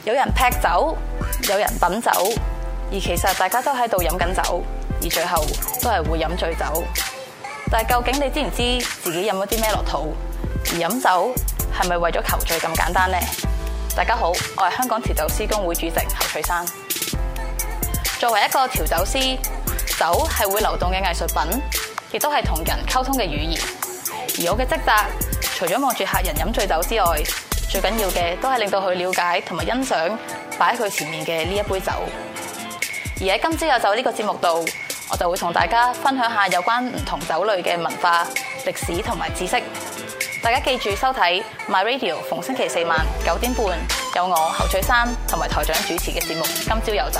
有人劈酒，有人品酒，而其實大家都喺度飲緊酒，而最後都係會飲醉酒。但係究竟你知唔知自己飲咗啲咩落肚？而飲酒係咪為咗求醉咁簡單呢？大家好，我係香港調酒師公會主席侯翠珊。作為一個調酒師，酒係會流動嘅藝術品，亦都係同人溝通嘅語言。而我嘅職責，除咗望住客人飲醉酒之外，最緊要嘅都係令到佢了解同埋欣賞擺喺佢前面嘅呢一杯酒。而喺今朝有酒呢個節目度，我就會同大家分享下有關唔同酒類嘅文化、歷史同埋知識。大家記住收睇 My Radio， 逢星期四晚9點半有我侯翠珊同埋台長主持嘅節目《今朝有酒》。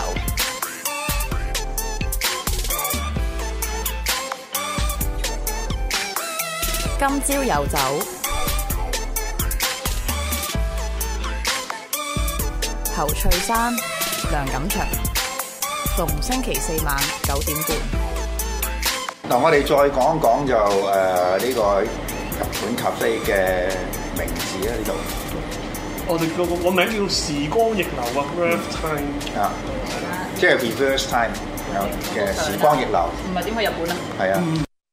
今朝有酒，侯翠珊、梁錦祥，逢星期四晚9點半。 嗱，我哋再講一講就呢個日本咖啡嘅名字咧，呢度我哋個名叫時光逆流啊 ，reverse time 啊，即係 reverse time 嘅時光逆流。 唔係點去日本啊？ 係啊。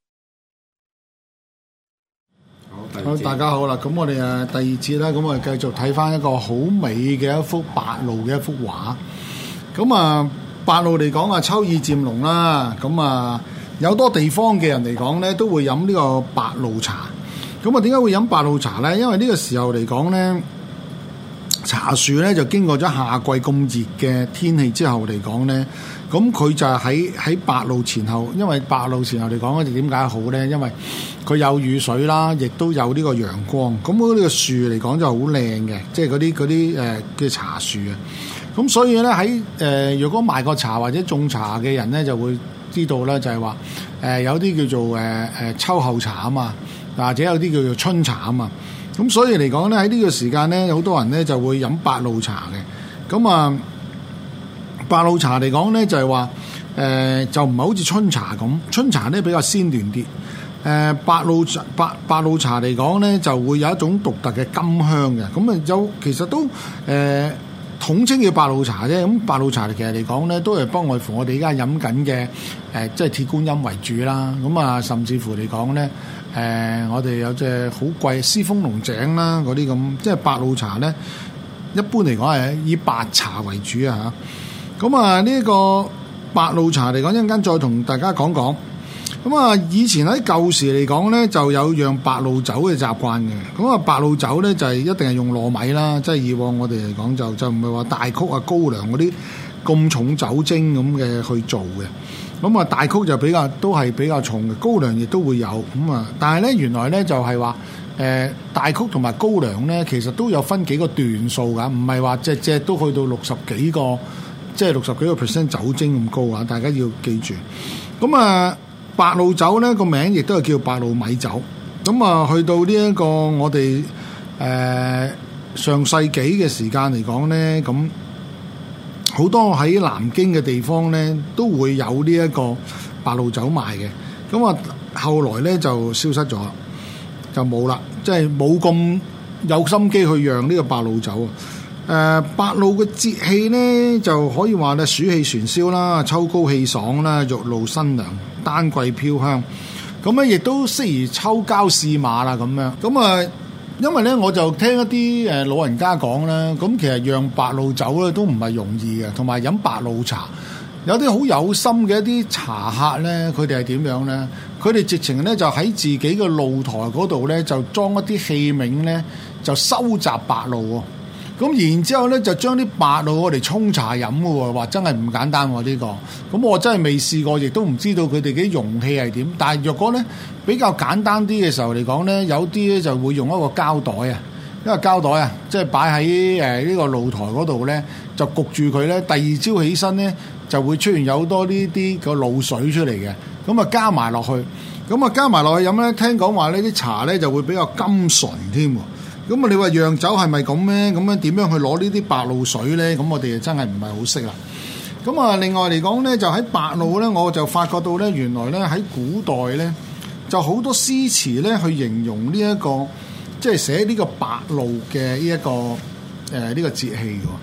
好，大家好啦，咁我哋第二節啦，咁我哋繼續睇翻一個好美嘅一幅白鷺嘅一幅畫。咁啊，白鷺嚟講啊，秋意漸濃啦。咁啊，有多地方嘅人嚟講咧，都會飲呢個白鷺茶。咁啊，點解會飲白鷺茶咧？因為呢個時候嚟講咧，茶樹咧就經過咗夏季咁熱嘅天氣之後嚟講咧，咁佢就喺白鷺前後，因為白鷺前後嚟講咧，點解好咧？因為佢有雨水啦，亦都有呢個陽光。咁呢個樹嚟講就好靚嘅，即係嗰啲嘅茶樹啊。咁所以咧喺如果賣過茶或者種茶嘅人咧，就會知道咧，就係話有啲叫做秋後茶啊嘛，或者有啲叫做春茶啊嘛。咁所以嚟講咧，喺呢個時間咧，有好多人咧就會飲白鷺茶嘅。咁啊，白鷺茶嚟講咧就係話就唔係好似春茶咁，春茶咧比較鮮嫩啲。白鷺茶嚟講咧，就會有一種獨特嘅甘香嘅。咁啊其實都統稱叫白鷺茶啫。咁白鷺茶其實嚟講咧，都係不外乎我哋而家飲緊嘅即係鐵觀音為主啦。咁啊，甚至乎嚟講咧，我哋有隻好貴獅峰龍井啦，嗰啲咁，即係白鷺茶咧，一般嚟講係以白茶為主啊嚇。咁啊，呢個白鷺茶嚟講，一陣間再同大家講講。咁啊，以前喺舊時嚟講咧，就有釀白鷺酒嘅習慣嘅。咁啊，白鷺酒咧就係一定係用糯米啦，即係以往我哋嚟講就唔係話大曲啊、高粱嗰啲咁重酒精咁嘅去做嘅。咁啊，大曲就都係比較重嘅，高粱亦都會有咁啊。但係咧，原來咧就係話大曲同埋高粱咧，其實都有分幾個段數㗎，唔係話隻都去到60幾個，即係60幾個% 酒精咁高啊！大家要記住。咁啊，白鷺酒咧個名亦都係叫白鷺米酒。咁啊，去到呢一個我哋上世紀嘅時間嚟講咧，咁好多喺南京嘅地方咧都會有呢一個白鷺酒賣嘅。咁啊，後來咧就消失咗，就冇啦，即係冇咁有心機去釀呢個白鷺酒啊。白鷺嘅節氣咧就可以話咧，暑氣旋燒啦，秋高氣爽啦，玉露新娘，丹桂飄香。咁咧亦都適宜秋郊試馬啦咁樣。咁啊，因為咧我就聽一啲老人家講啦，咁其實釀白鷺酒咧都唔係容易嘅，同埋飲白鷺茶有啲好有心嘅一啲茶客咧，佢哋係點樣咧？佢哋直情咧就喺自己嘅露台嗰度咧，就裝一啲器皿咧，就收集白鷺喎。咁然之後咧，就將啲白鷺我哋沖茶飲嘅喎，話真係唔簡單喎呢個。咁我真係未試過，亦都唔知道佢哋嘅容器係點。但係若果咧比較簡單啲嘅時候嚟講咧，有啲咧就會用一個膠袋啊，一個膠袋啊，即係擺喺呢個露台嗰度咧，就焗住佢咧。第二朝起身咧，就會出現有好多呢啲個露水出嚟嘅。咁啊加埋落去，加埋落去飲咧，聽講話呢啲茶咧就會比較甘醇添喎。咁啊，你話釀酒係咪咁咧？咁樣點樣去攞呢啲白鷺水咧？咁我哋真係唔係好識啦。咁啊，另外嚟講咧，就喺白鷺咧，我就發覺到咧，原來咧喺古代咧，就好多詩詞咧去形容呢一個，即係寫呢個白鷺嘅呢一個呢個節氣嘅。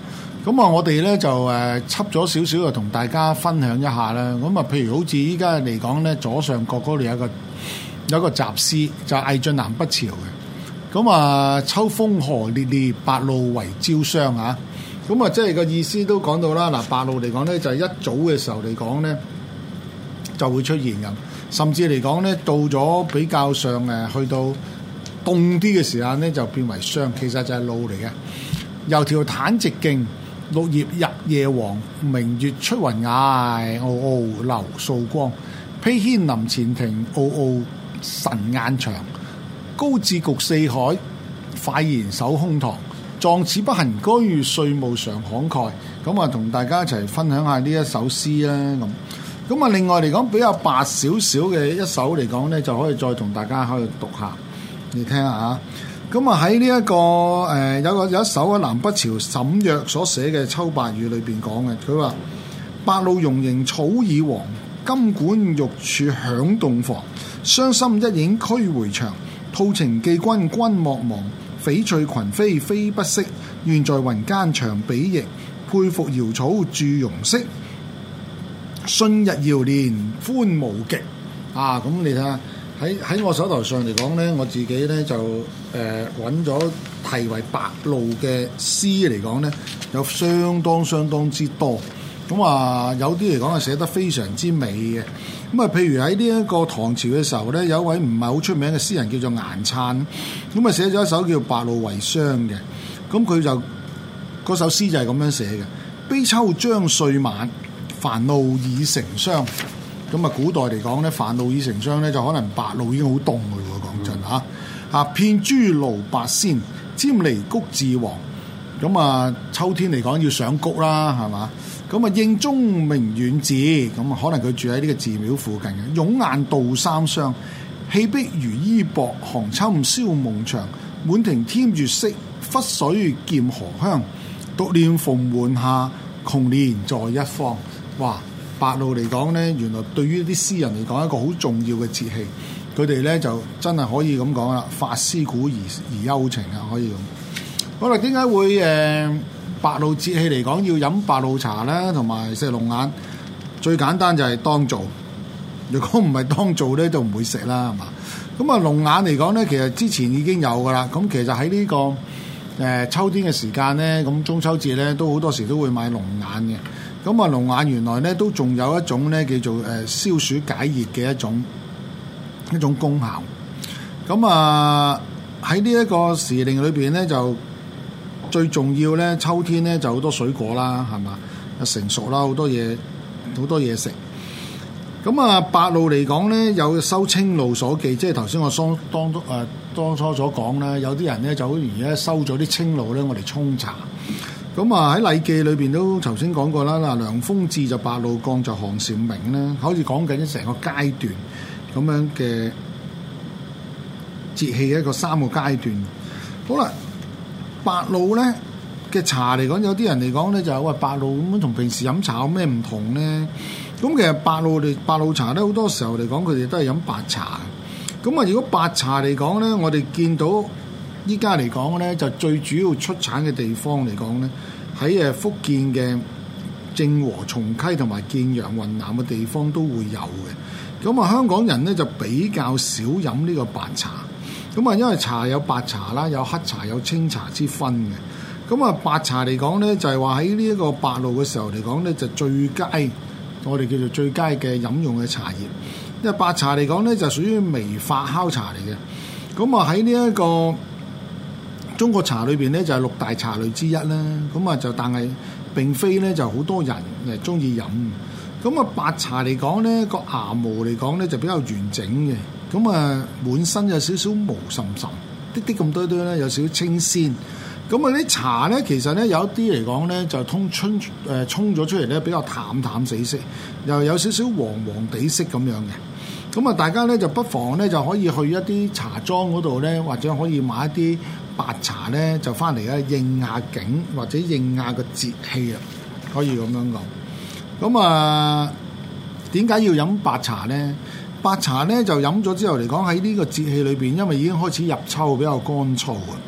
咁啊，我哋咧就輯咗少少就同大家分享一下啦。咁啊，譬如好似依家嚟講咧，左上角嗰度有一個雜詩，就係魏晉南北朝嘅。咁啊，秋風何烈烈，白露為朝霜啊！咁啊，即係個意思都講到啦。嗱，白露嚟講咧，就係一早嘅時候嚟講咧，就會出現咁。甚至嚟講咧，到咗比較上去到凍啲嘅時間咧，就變為霜。其實就係露嚟嘅。由條坦直徑，綠葉日夜黃，明月出雲崖，傲傲流素光。披牽林前庭，傲傲神雁場。高志局四海，快言守空堂。壯士不行居，歲暮常慷慨。咁啊，同大家一齊分享下呢一首詩啦。咁啊，另外嚟講比較白少少嘅一首嚟講咧，就可以再同大家可以讀下，你聽下嚇。咁啊，喺呢一個有一首喺南北朝沈約所寫嘅《秋白語》裏邊講嘅，佢話：白露溶凝草已黃，金管玉柱響洞房。傷心一影驅回腸，吐情寄君君莫忘。翡翠群飛飛不息，願在雲間長比翼。佩服瑤草著容色，信日遙年歡無極。啊，咁你睇下喺我手頭上嚟講咧，我自己咧就揾咗題為白露嘅詩嚟講咧，有相當之多。咁啊，有啲嚟講係寫得非常之美嘅。咁啊，譬如喺呢一個唐朝嘅時候咧，有一位唔係好出名嘅詩人叫做顏粲，咁啊寫咗一首叫《白露為霜》嘅。咁佢就嗰首詩就係咁樣寫嘅：悲秋將歲晚，煩惱已成霜。咁啊，古代嚟講咧，煩惱已成霜咧，就可能白露已經好凍嘅喎。講真嚇，啊片珠爐白鮮，沾離谷自黃。咁啊，秋天嚟講要上谷啦，係嘛？咁啊，應中明遠寺，咁啊，可能佢住喺呢個寺廟附近嘅。湧雁度三湘，氣碧如衣薄，寒侵燒夢長。滿庭添月色，忽水劍荷香。獨念蓬門下，窮年在一方。哇！白露嚟講咧，原來對於啲詩人嚟講一個好重要嘅節氣，佢哋咧就真係可以咁講啦，發思古而幽情啊，可以咁。好啦，點解會白露節氣嚟講要飲白露茶咧，同埋食龍眼？最簡單就係當造，如果唔係當造咧，就唔會食啦，係嘛？咁啊，龍眼嚟講咧，其實之前已經有噶啦。咁其實喺呢個秋天嘅時間咧，咁中秋節咧都好多時都會買龍眼嘅。咁啊，龍眼原來咧都仲有一種咧叫做消暑解熱嘅一種功效。咁啊，喺呢一個時令裏邊咧，就最重要咧，秋天咧就好多水果啦，係嘛？成熟啦，好多嘢食。咁啊，白露嚟講咧，有收青露所記，即係頭先我當初所講啦，有啲人咧就好容易咧收咗啲青露咧，我哋沖茶。咁啊，喺《禮記》裏邊都頭先講過啦，嗱，涼風至就白露降就寒蟬鳴啦，好似講緊成個階段咁樣嘅節氣嘅一個3個階段。好啦，白露咧嘅茶嚟講，有啲人嚟講咧就係喂，白露咁樣同平時飲茶有咩唔同咧？咁其實白露茶咧好多時候嚟講，佢哋都係飲白茶。咁啊，如果白茶嚟講咧，我哋見到依家嚟講咧，就最主要出產嘅地方嚟講咧，喺福建嘅正和、松溪同埋建陽、雲南嘅地方都會有嘅。咁啊，香港人咧就比較少飲呢個白茶。咁啊，因為茶有白茶啦，有黑茶、有清茶之分嘅。咁啊，白茶嚟講咧，就係話喺呢一個白露嘅時候嚟講咧，就最佳，我哋叫做最佳嘅飲用嘅茶葉。因為白茶嚟講咧，就屬於微發酵茶嚟嘅。咁啊，喺呢一個中國茶裏邊咧，就係6大茶類之一啦。咁啊，就但係並非咧就好多人中意飲。咁啊，白茶嚟講咧，個芽毛嚟講咧就比較完整嘅。咁啊，滿身有少少毛滲滲，啲咁多咧，有少少清鮮。咁啊，啲茶咧，其實咧有一啲嚟講咧，就沖咗出嚟咧，比較淡死色，又有少少黃地色咁樣嘅。咁啊，大家咧就不妨咧就可以去一啲茶莊嗰度咧，或者可以買一啲白茶咧，就翻嚟咧應下景或者應下個節氣啊，可以咁樣講。咁啊，點解要飲白茶咧？白茶咧就飲咗之後嚟講，喺呢個節氣裏邊，因為已經開始入秋，比較乾燥啊。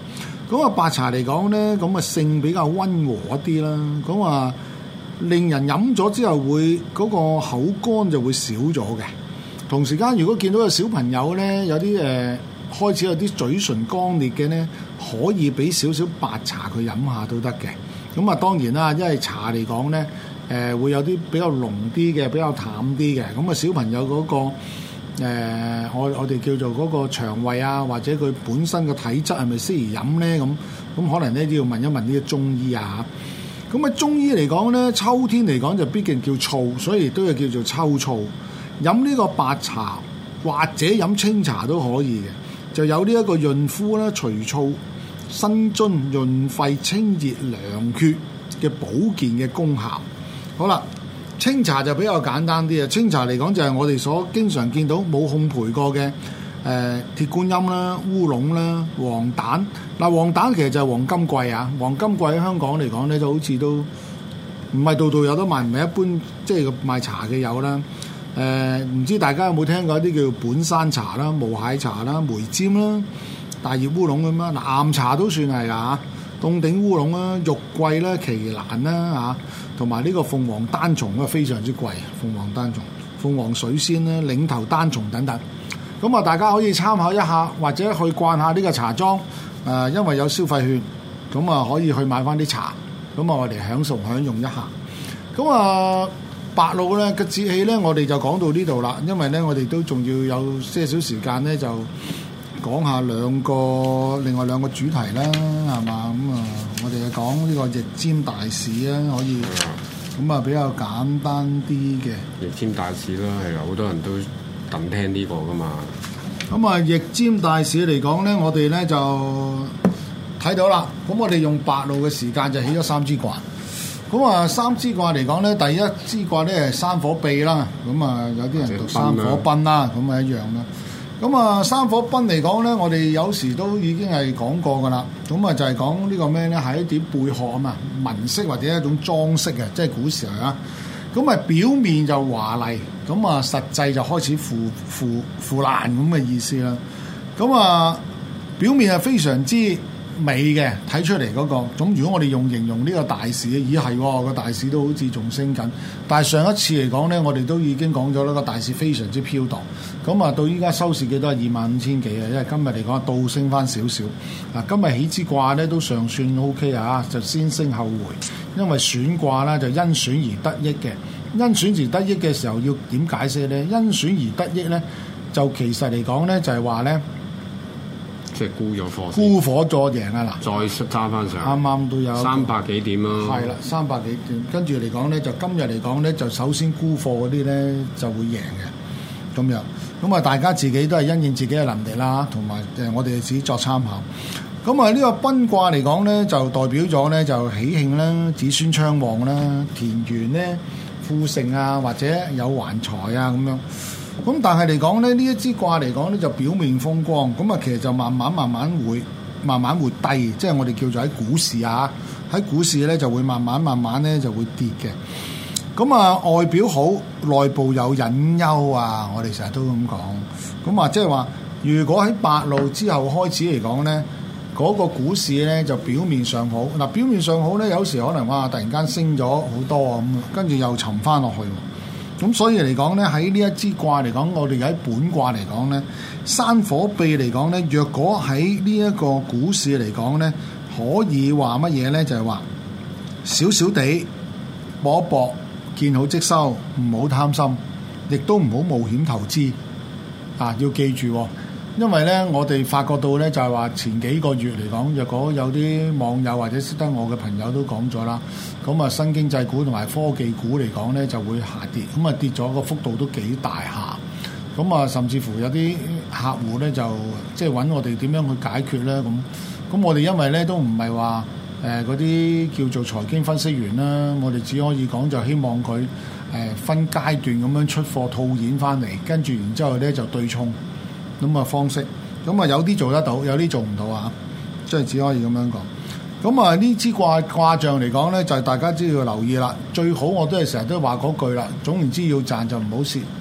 咁啊白茶嚟講咧，咁啊性比較溫和一啲啦。咁啊令人飲咗之後會嗰個口乾就會少咗嘅。同時間如果見到有小朋友咧有啲開始有啲嘴唇乾裂嘅咧，可以俾少少白茶佢飲下都得嘅。咁啊當然啦，因為茶嚟講咧會有啲比較濃啲嘅，比較淡啲嘅。咁啊小朋友嗰個我哋叫做嗰個腸胃啊，或者佢本身嘅體質係咪適宜飲咧？咁可能咧都要問一問呢個中醫啊。咁啊中醫嚟講咧，秋天嚟講就畢竟叫燥，所以都係叫做秋燥。飲呢個白茶或者飲清茶都可以嘅，就有呢一個潤膚啦、除燥、生津、潤肺、清熱、涼血嘅保健嘅功效。好啦。清茶就比較簡單啲啊！清茶嚟講就係我哋所經常見到冇烘焙過嘅鐵觀音啦、烏龍啦、黃蛋。嗱，黃蛋其實就係黃金桂啊！黃金桂喺香港嚟講咧，就好似都唔係度度有得賣，唔係一般即係賣茶嘅有啦。唔知大家有冇聽過一啲叫本山茶啦、無蟹茶啦、梅尖啦、大葉烏龍咁啦。嗱，岩茶都算係㗎，凍頂烏龍啦、玉桂啦、奇蘭啦嚇。同埋呢個鳳凰單叢啊，非常之貴。鳳凰單叢、鳳凰水仙咧、嶺頭單叢等等，咁啊大家可以參考一下，或者去逛下呢個茶莊。因為有消費券，咁啊可以去買翻啲茶，咁啊我哋享用一下。咁啊白露咧嘅節氣咧，我哋就講到呢度啦。因為咧我哋都仲要有些少時間咧，就講下另外兩個主題啦，係嘛？咁啊，我哋就講呢個易占大市啊，可以咁啊比較簡單啲嘅易占大市啦，係啊，好多人都等聽呢個噶嘛。 咁啊，易占大市嚟講咧，我哋咧就睇到啦。咁我哋用白露嘅時間就起咗三支卦。咁啊，三支卦嚟講咧，第一支卦咧係山火賁啦。咁啊，有啲人讀山火賁啦，咁啊一樣啦。咁啊，山火賁嚟講咧，我哋有時都已經係講過噶啦。咁啊，就係講呢個咩咧？係一啲貝殼啊嘛，紋飾或者一種裝飾嘅，即係古時候啊。咁啊，表面就華麗，咁啊，實際就開始腐爛咁嘅意思啦。咁啊，表面係非常之美嘅，睇出嚟嗰個。咁如果我哋用形容呢個大市，咦係個大市都好似仲升緊。但係上一次嚟講咧，我哋都已經講咗啦，個大市非常之飄蕩。咁啊，到依家收市幾多？25,000幾啊！因為今日嚟講倒升翻少少。嗱，今日起支卦咧都尚算 OK 啊，就先升後回。因為選卦啦，就因選而得益嘅。因選而得益嘅時候要點解釋咧？因選而得益咧，就其實嚟講咧就係話咧。 即係沽咗貨， 沽火咗贏啊！嗱，再揸翻上， 啱啱都有 300幾點咯。 係啦，300幾點，跟住嚟講咧，就今日嚟講咧，就首先沽貨嗰啲咧就會贏嘅咁樣。咁啊，大家自己都係因應自己嘅能力啦，同埋我哋自己作參考。咁啊，呢個賁卦嚟講咧，就代表咗咧就喜慶啦、子孫昌旺啦、田園咧富盛啊，或者有橫財啊咁樣。咁但係嚟講咧，呢一支卦嚟講咧就表面風光，咁啊其實就慢慢會低，即係我哋叫做喺股市啊，喺股市咧就會慢慢咧就會跌嘅。咁啊外表好，內部有隱憂啊，我哋成日都咁講。咁啊即係話，如果喺白露之後開始嚟講咧，嗰個股市咧就表面上好。嗱，表面上好咧，有時可能哇突然間升咗好多啊咁，跟住又沉翻落去。咁所以嚟講咧，喺呢一支卦嚟講，我哋喺本卦嚟講咧，山火賁嚟講咧，若果喺呢一個股市嚟講咧，可以話乜嘢咧？就係話少少地搏一搏，見好即收，唔好貪心，亦都唔好冒險投資啊！要記住，因為咧，我哋發覺到咧，就係話前幾個月嚟講，若果有啲網友或者識得我嘅朋友都講咗啦，咁啊新經濟股同埋科技股嚟講咧就會下跌，咁啊跌咗個幅度都幾大下，咁啊甚至乎有啲客戶咧就即係揾我哋點樣去解決咧咁我哋因為咧都唔係話嗰啲叫做財經分析員啦，我哋只可以講就希望佢分階段咁樣出貨套現翻嚟，跟住然之後咧就對沖。咁啊方式，咁啊有啲做得到，有啲做唔到啊，即係只可以咁樣講。咁啊呢支卦象嚟講咧，就係大家都要留意啦。最好我都係成日都話嗰句啦，總言之要賺就唔好蝕。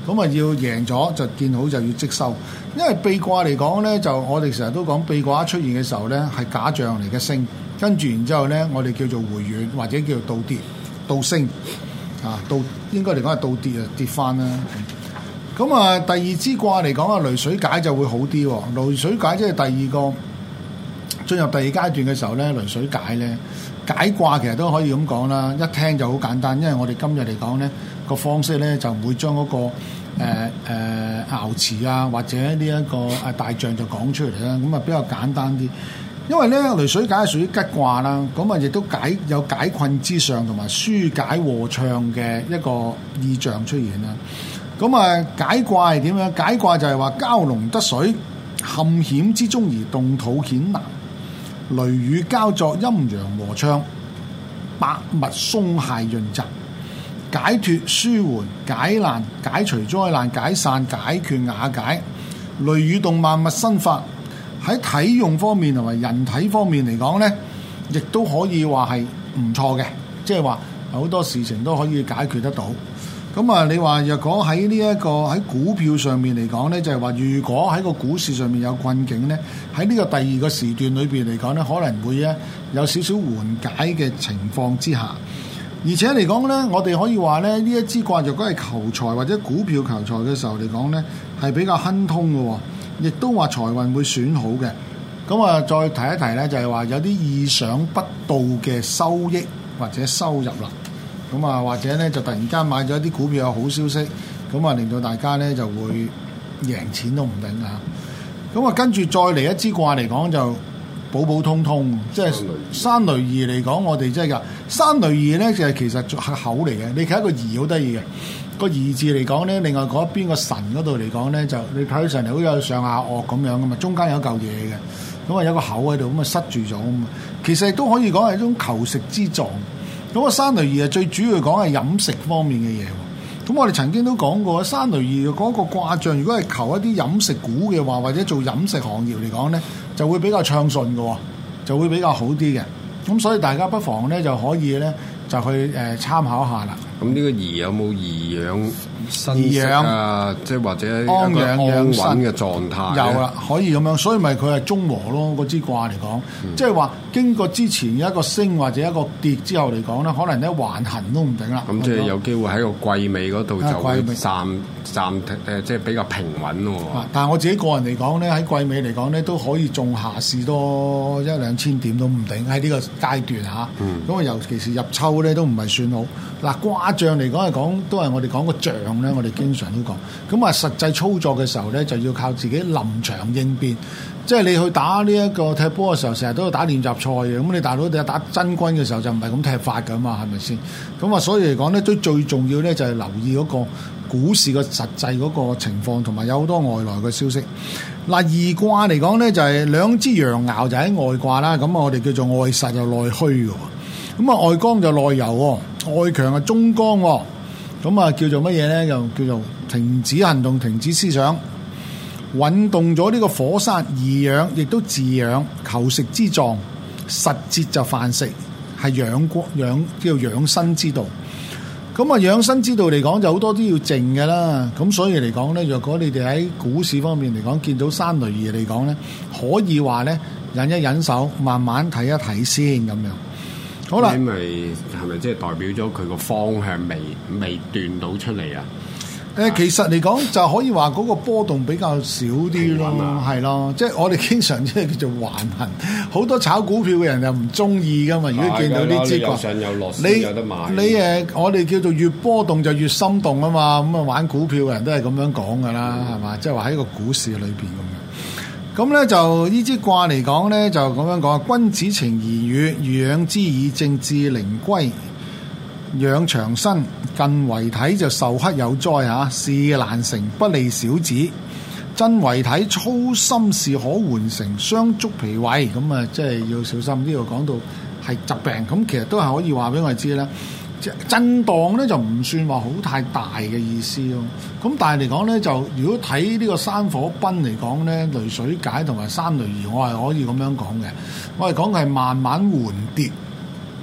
咁啊要贏咗就見好就要即收。因為秘卦嚟講咧，就我哋成日都講秘卦一出現嘅時候咧，係假象嚟嘅升，跟住然之後咧，我哋叫做回軟或者叫做倒跌倒升啊，倒應該嚟講係倒跌啊，跌翻啦。咁啊，第二支卦嚟講啊，雷水解就會好啲喎。雷水解即係第二個進入第二階段嘅時候咧，雷水解咧解卦其實都可以咁講啦，一聽就好簡單，因為我哋今日嚟講咧個方式咧就唔會將嗰個爻辭啊或者呢一個大象就講出嚟啦，咁啊比較簡單啲。因為咧雷水解係屬於吉卦啦，咁啊亦都有解困之上同埋紓解和暢嘅一個意象出現啦。咁啊解卦係點樣？解卦就係話蛟龍得水，陷險之中而動土險難，雷雨交作，陰陽和暢，百物鬆懈潤澤，解脫舒緩，解難解除災難，解散解決瓦解，雷雨動萬物生發。喺體用方面同埋人體方面嚟講咧，亦都可以話係唔錯嘅，即係話好多事情都可以解決得到。咁啊，你話若果喺呢一個喺股票上面嚟講咧，就係話如果喺個股市上面有困境咧，喺呢個第二個時段裏邊嚟講咧，可能會咧有少少緩解嘅情況之下。而且嚟講咧，我哋可以話咧，呢一支卦若果係求財或者股票求財嘅時候嚟講咧，係比較亨通嘅喎。亦都話財運會選好嘅，咁啊再提一提咧，就係話有啲意想不到嘅收益或者收入啦，咁啊或者咧就突然間買咗一啲股票有好消息，咁啊令到大家咧就會贏錢都唔定啊，咁啊跟住再嚟一支卦嚟講就普普通通，即係山雷儀嚟講，我哋即係噶山雷儀咧就係其實係口嚟嘅，你睇一個儀好得意嘅。個儀字嚟講咧，另外嗰邊個神嗰度嚟講咧，就你睇上嚟好似有上下顎咁樣噶嘛，中間有嚿嘢嘅，咁啊有個口喺度，咁啊塞住咗啊嘛。其實都可以講係一種求食之狀。咁啊山雷儀啊，最主要講係飲食方面嘅嘢。咁我哋曾經都講過，山雷儀嗰個卦象，如果係求一啲飲食股嘅話，或者做飲食行業嚟講咧，就會比較暢順嘅，就會比較好啲嘅。咁所以大家不妨咧就可以咧就去參考下啦。 咁呢個儀有冇儀養生息啊？即係或者一個安養穩嘅狀態？ 有啦，可以咁樣，所以咪佢係中和咯。嗰支卦嚟講，即係話經過之前一個升或者一個跌之後嚟講咧，可能咧橫行都唔定啦。 咁即係有機會喺個季尾嗰度就會暫即係比較平穩喎。 但係我自己個人嚟講咧，喺季尾嚟講咧，都可以仲下試多1-2千點都唔定喺呢個階段嚇。咁啊，尤其是入秋咧都唔係算好。嗱卦象嚟講係講都係我哋講個象咧，我哋經常都講。咁啊，實際操作嘅時候咧，就要靠自己臨場應變。即係你去打呢一個踢波嘅時候，成日都要打練習賽嘅。咁你大佬打真軍嘅時候就唔係咁踢法㗎嘛，係咪先？咁啊，所以嚟講咧，最重要咧就係留意嗰個股市嘅實際嗰個情況，同埋有好多外來嘅消息。嗱，二卦嚟講咧就係兩支陽爻就喺外卦啦。咁啊，我哋叫做外實又內虛嘅。咁啊，外剛就內柔，外強啊中剛。咁啊，叫做乜嘢咧？又叫做停止行動、停止思想，運動咗呢個火山怡養，亦都自養，求食之狀，實節就飯食，係叫養生之道。咁啊，養生之道嚟講就好多都要靜嘅啦。咁所以嚟講咧，若果你哋喺股市方面嚟講見到山雷儀嚟講咧，可以話咧忍一忍手，慢慢睇一睇先咁樣。好啦， 因為係咪即係代表咗佢個方向未斷到出嚟啊？ 其實嚟講就可以話嗰個波動比較少啲咯，係咯，即係我哋經常即係叫做橫行。好多炒股票嘅人又唔中意噶嘛。如果見到呢支卦， 有上有落先有得買。 我哋叫做越波動就越心動啊嘛。咁啊玩股票嘅人都係咁樣講噶啦，係嘛？即係話喺個股市裏邊咁樣。咁咧就呢支卦嚟講咧就咁樣講，君子情而與，養之以正，至靈歸，養長身，近為體就受克有災嚇，事難成，不利小子。真為體，操心事可完成，傷足脾胃。咁啊，即係要小心。呢度講到係疾病，咁其實都係可以話俾我哋知啦。震盪咧就唔算話好太大嘅意思咯。咁但係嚟講咧，就如果睇呢個山火賁嚟講咧，雷水解同埋山雷儀，我係可以咁樣講嘅。我係講係慢慢緩跌，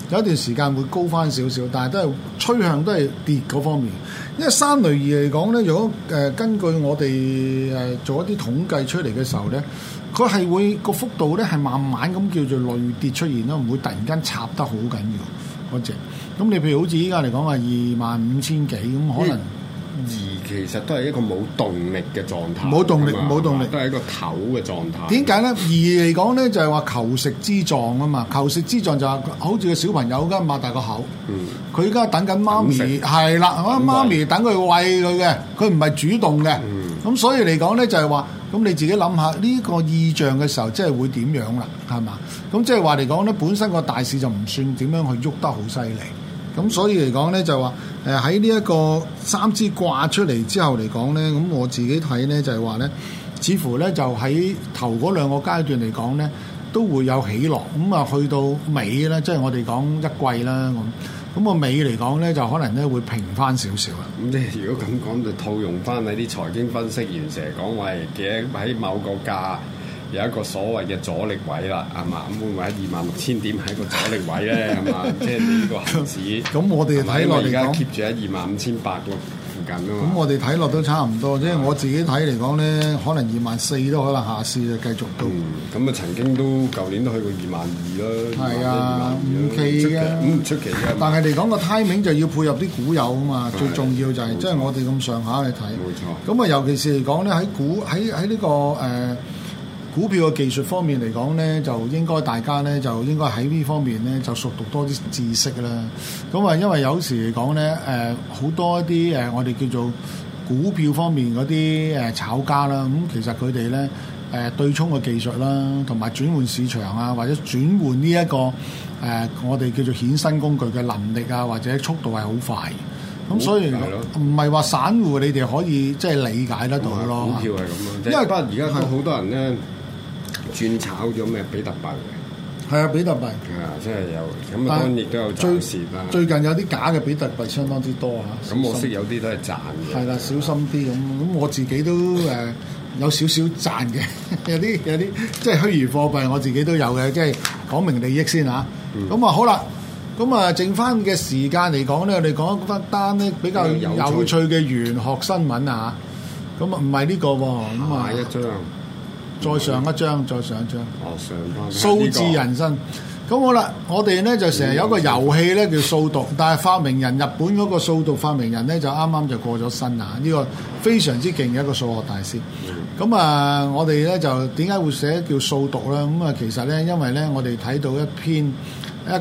有一段時間會高翻少少，但係都係趨向都係跌嗰方面。因為三類二嚟講咧，如果根據我哋做一啲統計出嚟嘅時候咧，佢係會個幅度咧係慢慢咁叫做累跌出現咯，唔會突然間插得好緊要嗰隻。咁你譬如好似依家嚟講話25,000幾咁，可能而其實都係一個冇動力嘅狀態， 冇動力，冇動力， 都係一個唞嘅狀態。 點解咧？二嚟講咧就係話求食之狀啊嘛，求食之狀就係好似個小朋友而家擘大個口，佢而家等緊媽咪，係啦，媽咪等佢餵佢嘅，佢唔係主動嘅，咁所以嚟講咧就係話，咁你自己諗下呢個意象嘅時候，即係會點樣啦？係嘛？咁即係話嚟講咧，本身個大市就唔算點樣去喐得好犀利。咁所以嚟講咧，就話喺呢一個三支掛出嚟之後嚟講咧，咁我自己睇咧就係話咧，似乎咧就喺頭嗰兩個階段嚟講咧，都會有起落。咁啊，去到尾咧，即係我哋講一季啦，咁個尾嚟講咧，就可能咧會平翻少少啦。 咁即係如果咁講，就套用翻喺啲財經分析員成日講話喺某個價有一個所謂嘅阻力位啦，係嘛？咁會唔會喺26,000點係一個阻力位咧？係嘛？即係呢個恆指。咁我哋睇落嚟講，而家 keep 住喺25,500個附近啊嘛。 咁我哋睇落都差唔多，即係我自己睇嚟講咧，可能24,000都可能下試就繼續到。 咁啊，曾經都舊年都去過22,000啦。係啊， 唔奇嘅， 唔出奇嘅。 但係嚟講個 timing 就要配合啲股友啊嘛，最重要就係即係我哋咁上下去睇。 冇錯。 咁啊，尤其是嚟講咧，喺呢個股票嘅技術方面嚟講咧，就應該大家咧就應該喺呢方面咧就熟讀多啲知識啦。咁啊，因為有時嚟講咧，好多一啲我哋叫做股票方面嗰啲炒家啦，咁其實佢哋咧對沖嘅技術啦，同埋轉換市場啊，或者轉換呢一個我哋叫做衍生工具嘅能力啊，或者速度係好快。咁所以唔係話散戶你哋可以即係理解得到咯。 股票係咁咯，因為不過而家都好多人咧。轉炒咗咩比特幣嘅？ 係啊，比特幣。 即係有咁啊，當然亦都有賺蝕啦。 最近有啲假嘅比特幣相當之多嚇。 咁我識有啲都係賺嘅。 係啦，小心啲咁。咁我自己都有少少賺嘅，有啲即係虛擬貨幣，我自己都有嘅，即係講明利益先嚇。咁好啦，咁啊剩翻嘅時間嚟講咧，我哋講一單咧比較有趣嘅玄學新聞啊。咁啊唔係呢個喎，咁啊一張。 再上一張，再上一張。 上翻數字人生。咁好啦，我哋咧就成日有個遊戲咧叫數獨，但係發明人日本嗰個數獨發明人咧就啱啱就過咗身啊！呢個非常之勁嘅一個數學大師。咁我哋咧就點解會寫叫數獨咧？咁其實咧，因為咧我哋睇到一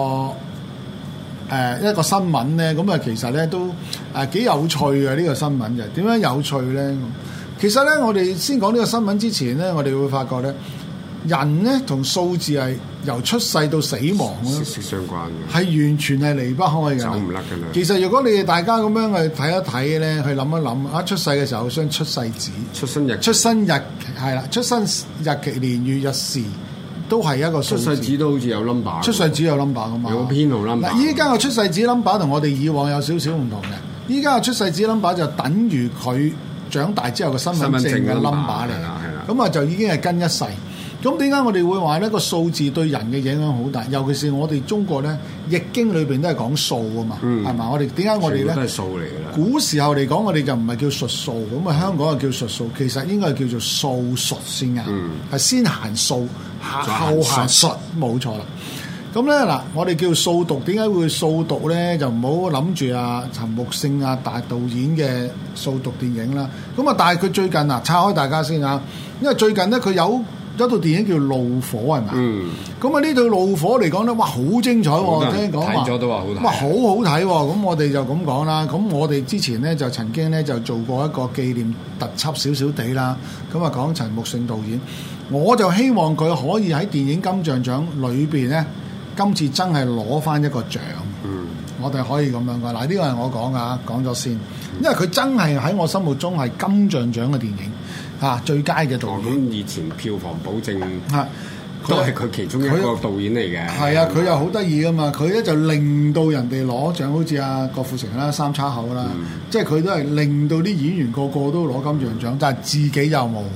個新聞咧，咁其實咧都幾有趣嘅呢個新聞嘅。點樣有趣咧？其實咧，我哋先講呢個新聞之前咧，我哋會發覺咧，人咧同數字係由出世到死亡咧， 息息相關嘅， 係完全係離不開嘅， 走唔甩嘅啦。其實如果你哋大家咁樣去睇一睇咧，去諗一諗，出世嘅時候張出世紙、出生日係啦，出生日期、年月日時都係一個數字。 出世紙都好似有 number， 出世紙有 number 噶嘛？ 有個編號 number。 嗱，依家個出世紙 number 同我哋以往有少少唔同嘅。依家個出世紙 number 就等於佢長大之後個身份證嘅 number 嚟，咁就已經係跟一世。咁點解我哋會話呢個數字對人嘅影響好大？尤其是我哋中國咧，易經裏邊都係講數啊嘛，係嘛？我哋點解我哋咧？ 都係數嚟㗎啦。古時候嚟講，我哋就唔係叫術數，咁香港係叫術數，其實應該係叫做數術先啱，係先行數，後行術，冇錯啦。咁咧嗱，我哋叫數獨，點解會數獨咧？就唔好諗住陳木勝大導演嘅數獨電影啦。咁但係佢最近拆開大家先啊，因為最近咧佢有一套電影叫《怒火》係咪？咁呢套《怒火》嚟講咧，哇，好精彩喎！聽講話睇咗都話好睇， 哇，好好睇喎！咁我哋就咁講啦。咁我哋之前咧就曾經咧就做過一個紀念特輯少少地啦。咁講陳木勝導演，我就希望佢可以喺電影金像獎裏邊咧。今次真係攞翻一個獎，我哋可以咁樣講。嗱，呢個係我講噶，講咗先，因為佢真係喺我心目中係金像獎嘅電影最佳嘅導演。 咁以前票房保證都係佢其中一個導演嚟嘅。 係啊，佢又好得意噶嘛，佢咧就令到人哋攞獎，好似郭富城啦、三叉口啦，即係佢都係令到啲演員個個都攞金像獎，但係自己又冇。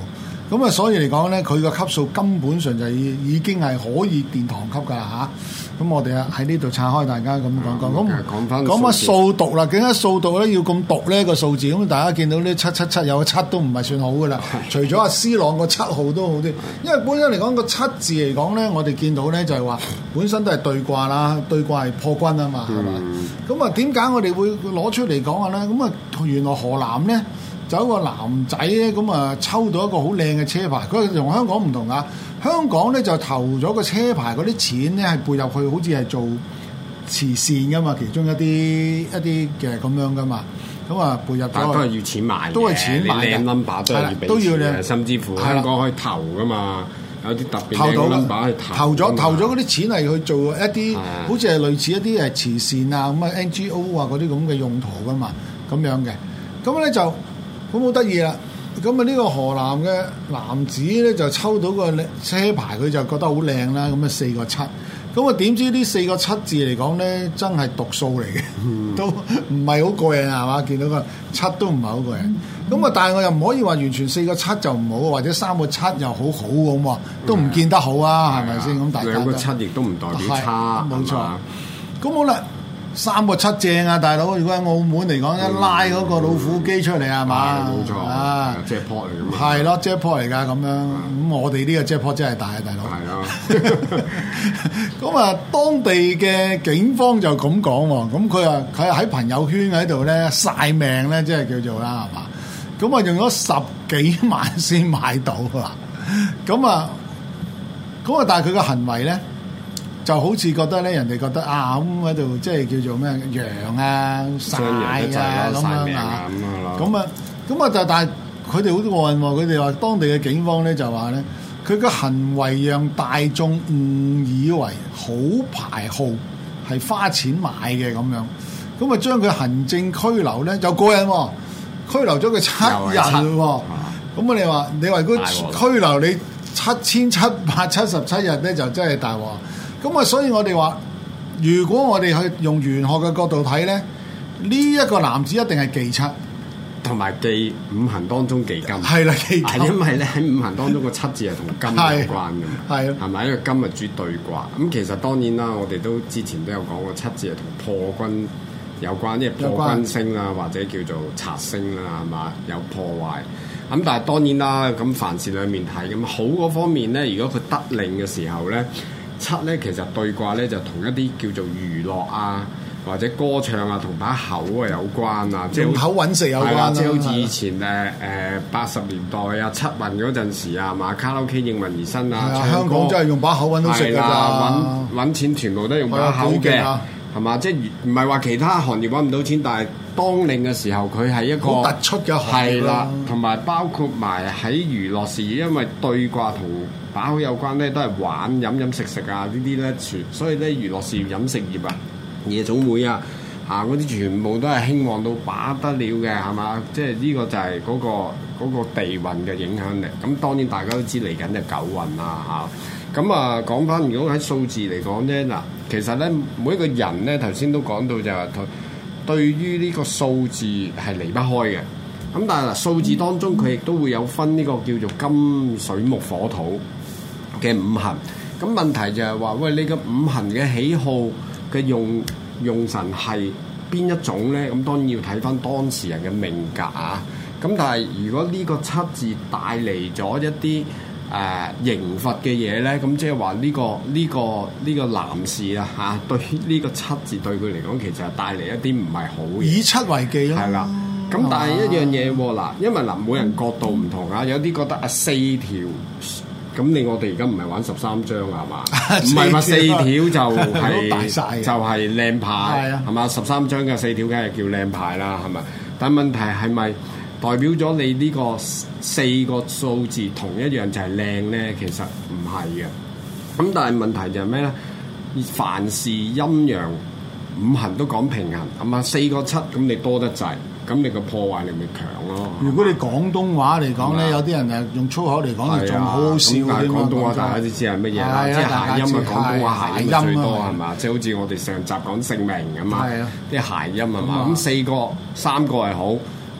咁啊，所以嚟講咧，佢個級數根本上就已經係可以殿堂級㗎啦嚇。咁我哋喺呢度拆開大家咁講講。咁講乜數獨啦？點解數獨咧要咁獨呢個數字？咁大家見到呢777有個7都唔係算好㗎啦。除咗阿 C 朗個7號都好啲，因為本身嚟講個7字嚟講咧，我哋見到咧就係話本身都係對卦啦，對卦係破軍啊嘛，係嘛？咁啊點解我哋會攞出嚟講啊咧？咁啊原來河南咧。就有一個男仔咧，咁啊抽到一個好靚嘅車牌，佢同香港唔同啊！香港咧就投咗個車牌嗰啲錢咧係背入去，好似係做慈善噶嘛，其中一啲嘅咁樣噶嘛，咁啊背入咗。但都係要錢買嘅， 都係錢買嘅。 靚 number 都係要俾錢嘅，甚至乎香港可以投噶嘛，有啲特別嘅 number 去投咗嗰啲錢係去做一啲，好似係類似一啲係慈善啊咁啊 NGO 啊嗰啲咁嘅用途噶嘛，咁樣嘅，咁咧就。咁好得意啦！咁啊呢個河南嘅男子咧就抽到個車牌，佢就覺得好靚啦。咁啊4個7，咁啊點知呢4個7字嚟講咧，真係獨數嚟嘅，都唔係好過癮係嘛？見到個7都唔係好過癮。咁啊，但係我又唔可以話完全4個7就唔好，或者3個7又好好咁喎，都唔見得好啊，係咪先？咁大家 2個7亦都唔代表差， 冇錯。咁好啦。3個7正啊，大佬！如果喺澳門嚟講，一拉嗰個老虎機出嚟係嘛？ 冇錯啊，jackpot 嚟㗎嘛。 係咯，jackpot 嚟㗎咁樣。咁我哋呢個 jackpot 真係大啊，大佬。 係啊。 咁啊，當地嘅警方就咁講喎。咁佢喺朋友圈喺度咧曬命咧，即係叫做啦，係嘛？咁啊，用咗10幾萬先買到啊！咁啊，但係佢嘅行為咧。就好似覺得咧，人哋覺得啊咁喺度，即係叫做咩羊啊、曬啊咁樣啊，咁啊，但係佢哋好過癮喎！佢哋話當地嘅警方咧就話咧，佢嘅行為讓大眾誤以為好牌號係花錢買嘅咁樣，咁啊將佢行政拘留咧就過癮喎，拘留咗佢7日喎，咁啊你話如果拘留你7777日咧，就真係大鑊。咁啊，所以我哋話，如果我哋去用玄學嘅角度睇咧，呢一個男子一定係忌7， 同埋忌五行當中忌金。 係啦，忌金。 因為咧喺五行當中個7字係同金有關嘅嘛。係。係咪？因為金係主對卦。咁其實當然啦，我哋都之前都有講過，7字係同破軍有關，因為破軍星啊，或者叫做賊星啦，係嘛，有破壞。咁但係當然啦，咁凡事兩面睇。咁好嗰方面咧，如果佢得令嘅時候咧。7咧其實對卦咧就同一啲叫做娛樂啊，或者歌唱啊，同把口啊有關啊，即係口揾食有關啦。 即係好似以前80年代啊7運嗰陣時啊，嘛卡拉 OK 應運而生啊， 香港真係用把口揾到食㗎咋， 揾錢全部都用把口嘅，係嘛？即係唔係話其他行業揾唔到錢，但係當令嘅時候佢係一個好突出嘅行業啦。 同埋包括埋喺娛樂事業，因為對卦同把口有關咧，都係玩飲食啊呢啲咧，所以咧娛樂事業、飲食業啊、夜總會啊嗰啲全部都係興旺到把得了嘅，係嘛？即係呢個就係嗰個地運嘅影響力。咁當然大家都知嚟緊就9運啦嚇。咁啊講翻，如果喺數字嚟講咧，嗱其實咧每一個人咧頭先都講到就係對於呢個數字係離不開嘅。咁但係嗱數字當中佢亦都會有分呢個叫做金水木火土嘅五行，咁問題就係話，喂，你個五行嘅喜好嘅用神係邊一種咧？咁當然要睇翻當事人嘅命格啊。咁但係如果呢個7字帶嚟咗一啲刑罰嘅嘢咧，咁即係話呢個男士啊嚇，對呢個7字對佢嚟講，其實係帶嚟一啲唔係好嘅。 以7為忌咯。係啦。 咁但係一樣嘢喎嗱，因為每人角度唔同啊，有啲覺得4條。咁我哋而家唔係玩13張係嘛？唔係話4條就係靚牌係嘛？13張嘅4條梗係叫靚牌啦係咪？但問題係咪代表咗你呢個4個數字同一樣就係靚咧？其實唔係嘅。咁但係問題就係咩咧？凡事陰陽五行都講平衡，係嘛？4個7咁你多得滯。咁你個破壞力咪強咯？ 如果你廣東話嚟講咧，有啲人誒用粗口嚟講，仲好好笑。 但係廣東話大家都知係乜嘢啦，即係諧音啊！廣東話諧音最多係嘛？即係好似我哋上集講姓名咁嘛，啲諧音係嘛？咁3個係好，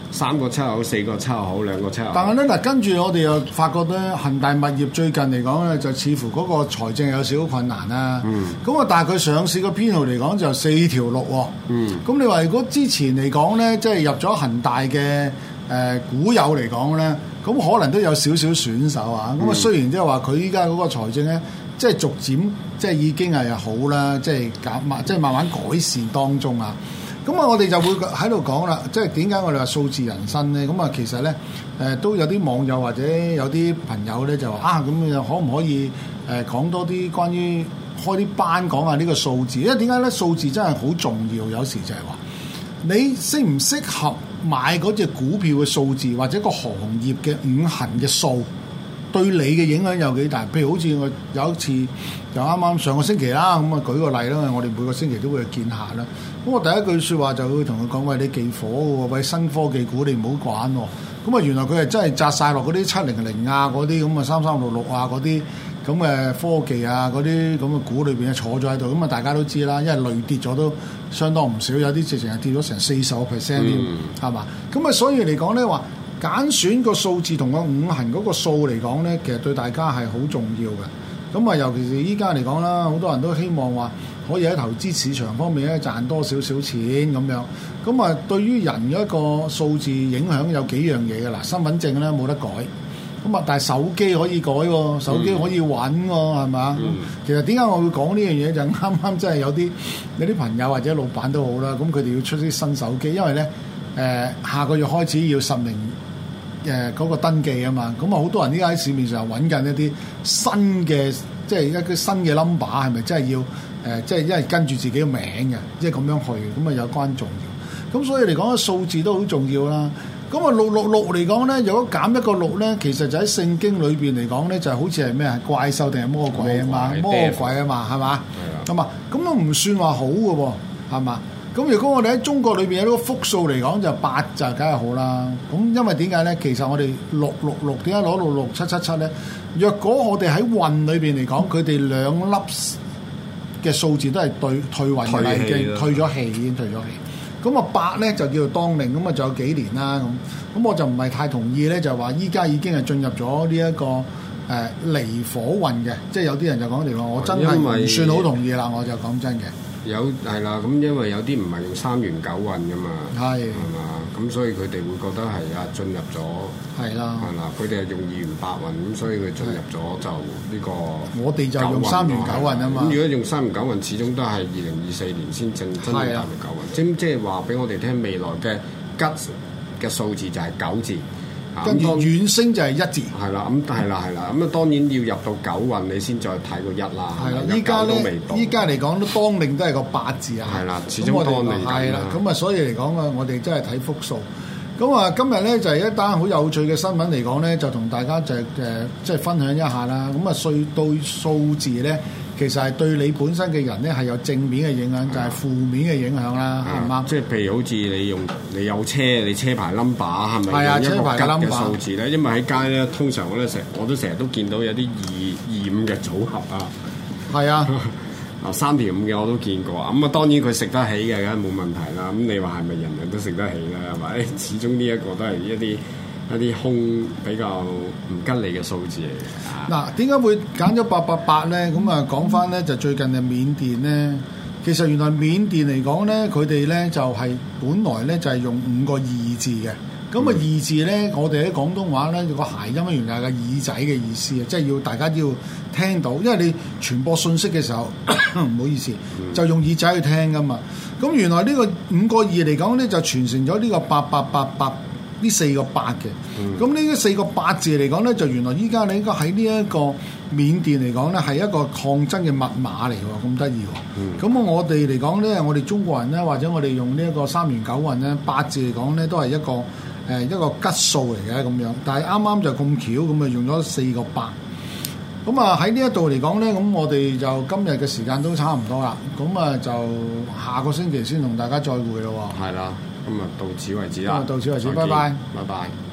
3個7好，4個7好，2個7好。 但係咧嗱，跟住我哋又發覺咧，恒大物業最近嚟講咧，就似乎嗰個財政有少少困難啦。咁啊，但係佢上市個編號嚟講就4條6喎。咁你話如果之前嚟講咧，即係入咗恒大嘅股友嚟講咧，咁可能都有少少損手啊。咁啊，雖然即係話佢依家嗰個財政咧，即係逐漸即係已經係好啦，即係慢慢改善當中啊。咁啊，我哋就會喺度講啦，即係點解我哋話數字人生咧？咁啊，其實咧都有啲網友或者有啲朋友咧就話啊，咁又可唔可以講多啲關於開啲班講下呢個數字？因為點解咧？數字真係好重要，有時就係話你適唔適合買嗰隻股票嘅數字，或者個行業嘅五行嘅數，對你嘅影響有幾大？譬如好似我有一次就啱啱上個星期啦，咁啊舉個例啦，我哋每個星期都會去見下啦。咁我第一句説話就會同佢講：喂，你忌火喎，喂，新科技股你唔好玩喎。咁啊，原來佢係真係擲晒落嗰啲700啊，嗰啲咁啊3366啊，嗰啲咁嘅科技啊，嗰啲咁嘅股裏邊坐咗喺度。咁啊，大家都知啦，因為累跌咗都相當唔少，有啲直情係跌咗成40%添，係嘛？咁啊，所以嚟講咧話，揀選個數字同個五行嗰個數嚟講咧，其實對大家係好重要嘅。咁啊，尤其是依家嚟講啦，好多人都希望話可以喺投資市場方面咧賺多少少錢咁樣。咁啊，對於人嘅一個數字影響有幾樣嘢嘅啦。身份證咧冇得改，咁啊，但係手機可以改喎，手機可以揾喎，係嘛？其實點解我會講呢樣嘢？就啱啱真係有啲朋友或者老闆都好啦，咁佢哋要出啲新手機，因為咧下個月開始要實名嗰個登記啊嘛，咁啊好多人依家喺市面上揾緊一啲新嘅，即係一個新嘅 number 係咪真係要即係因為跟住自己嘅名嘅，即係咁樣去，咁啊有關重要。咁所以嚟講，數字都好重要啦。咁啊666嚟講咧，如果減一個6咧，其實就喺聖經裏邊嚟講咧，就好似係咩啊？怪獸定係魔鬼啊嘛？魔鬼啊嘛，係嘛？咁啊，咁都唔算話好嘅喎，係嘛？咁如果我哋喺中國裏邊有呢個複數嚟講，就8就梗係好啦。咁因為點解咧？其實我哋666點解攞到6777咧？若果我哋喺運裏邊嚟講，佢哋兩粒嘅數字都係退運嘅，已經退咗氣，已經退咗氣。咁啊8咧就叫做當令，咁啊仲有幾年啦咁我就唔係太同意咧，就話依家已經係進入咗呢一個離火運嘅，即係有啲人就講離火，我真係唔算好同意啦，我就講真嘅。 係啦，咁因為有啲唔係用3元9運噶嘛，係嘛，咁所以佢哋會覺得係進入咗係啦，佢哋係用2元8運，咁所以佢進入咗就呢個我哋就用3元9運啊嘛。 咁如果用3元9運，始終都係2024年先真正3元9運，即係話俾我哋聽未來嘅吉嘅數字就係9字。 跟住遠升就係1字， 係啦，咁係啦，咁啊當然要入到9運，你先再睇個1啦。係啦， 依家咧，依家嚟講都當令都係個8字啊。係啦， 始終當令係啦，咁啊，所以嚟講啊，我哋真係睇複數。咁啊，今日咧就係一單好有趣嘅新聞嚟講咧，就同大家就即係分享一下啦。咁啊，對數字咧，其實係對你本身嘅人咧係有正面嘅影響，就係負面嘅影響啦，係嘛？ 即係譬如好似你有車，你車牌 number 係咪用一個吉嘅數字咧？因為喺街咧，通常我都成日都見到有啲225嘅組合啊。係啊。3條5嘅我都見過，咁啊當然佢食得起嘅，梗係冇問題啦。咁你話係咪人人都食得起咧？係咪？始終呢一個都係一啲空比較唔吉利嘅數字嚟嘅。 嗱，點解會揀咗888咧？咁啊講翻咧，就最近嘅緬甸咧，其實原來緬甸嚟講咧，佢哋咧就係本來咧就係用5個2字嘅。咁啊2字咧，我哋喺廣東話咧個諧音原來係個耳仔嘅意思啊，即係要大家要聽到，因為你傳播信息嘅時候唔好意思，就用耳仔去聽噶嘛。咁原來呢個5個2嚟講咧，就傳承咗呢個8888呢4個8嘅。咁呢4個8字嚟講咧，就原來依家你應該喺呢一個緬甸嚟講咧，係一個抗爭嘅密碼嚟喎，咁得意喎。咁我哋嚟講咧，我哋中國人咧，或者我哋用呢一個3元9運咧，8字嚟講咧，都係一個吉數嚟嘅咁樣，但係啱啱就咁巧咁啊，用咗4個8。咁啊喺呢一度嚟講咧，咁我哋就今日嘅時間都差唔多啦。咁啊就下個星期先同大家再會咯喎。 係啦，咁啊到此為止啦。 到此為止，拜拜。 拜拜。